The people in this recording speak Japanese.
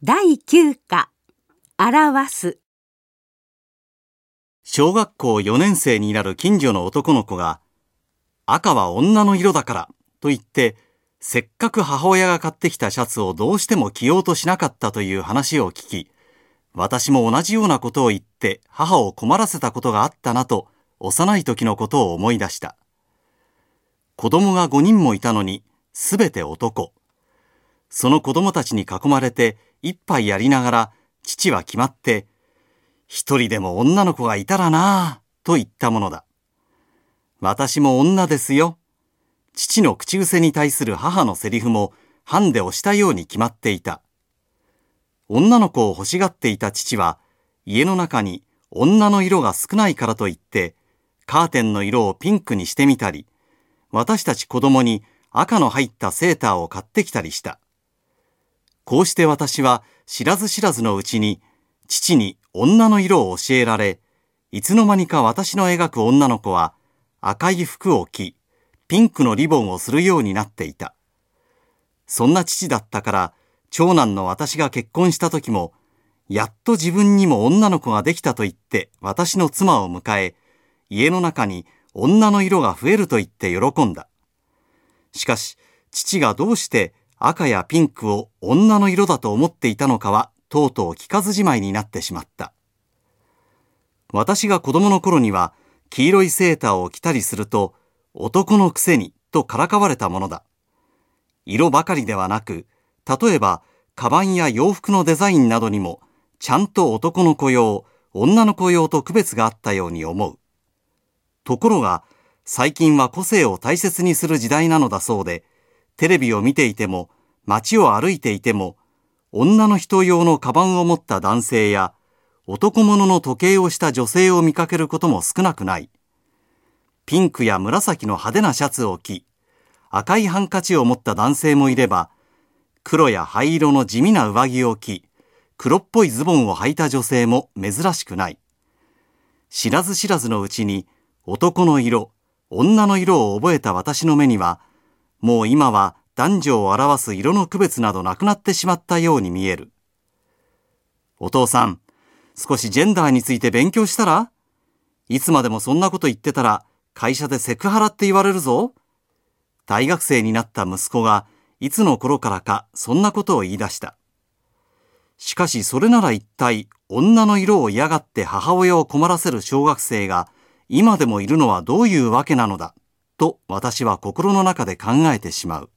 第9課表す。 小学校4年生になる近所の男の子が、赤は女の色だからと言って、せっかく母親が買ってきたシャツをどうしても着ようとしなかったという話を聞き、私も同じようなことを言って母を困らせたことがあったなと、幼い時のことを思い出した。子供が5人もいたのに、すべて男。その子供たちに囲まれて一杯やりながら、父は決まって、一人でも女の子がいたらなぁ、と言ったものだ。私も女ですよ。父の口癖に対する母のセリフも、ハンデをしたように決まっていた。女の子を欲しがっていた父は、家の中に女の色が少ないからと言って、カーテンの色をピンクにしてみたり、私たち子供に赤の入ったセーターを買ってきたりした。こうして私は知らず知らずのうちに父に女の色を教えられ、いつの間にか私の描く女の子は赤い服を着、ピンクのリボンをするようになっていた。そんな父だったから長男の私が結婚した時も、やっと自分にも女の子ができたと言って私の妻を迎え、家の中に女の色が増えると言って喜んだ。しかし父がどうして赤やピンクを女の色だと思っていたのかはとうとう聞かずじまいになってしまった。私が子供の頃には黄色いセーターを着たりすると男のくせにとからかわれたものだ。色ばかりではなく、例えばカバンや洋服のデザインなどにもちゃんと男の子用、女の子用と区別があったように思う。ところが最近は個性を大切にする時代なのだそうで、テレビを見ていても、街を歩いていても、女の人用のカバンを持った男性や、男物の時計をした女性を見かけることも少なくない。ピンクや紫の派手なシャツを着、赤いハンカチを持った男性もいれば、黒や灰色の地味な上着を着、黒っぽいズボンを履いた女性も珍しくない。知らず知らずのうちに、男の色、女の色を覚えた私の目には、もう今は男女を表す色の区別などなくなってしまったように見える。お父さん、少しジェンダーについて勉強したら？いつまでもそんなこと言ってたら会社でセクハラって言われるぞ。大学生になった息子がいつの頃からかそんなことを言い出した。しかしそれなら一体女の色を嫌がって母親を困らせる小学生が今でもいるのはどういうわけなのだと私は心の中で考えてしまう。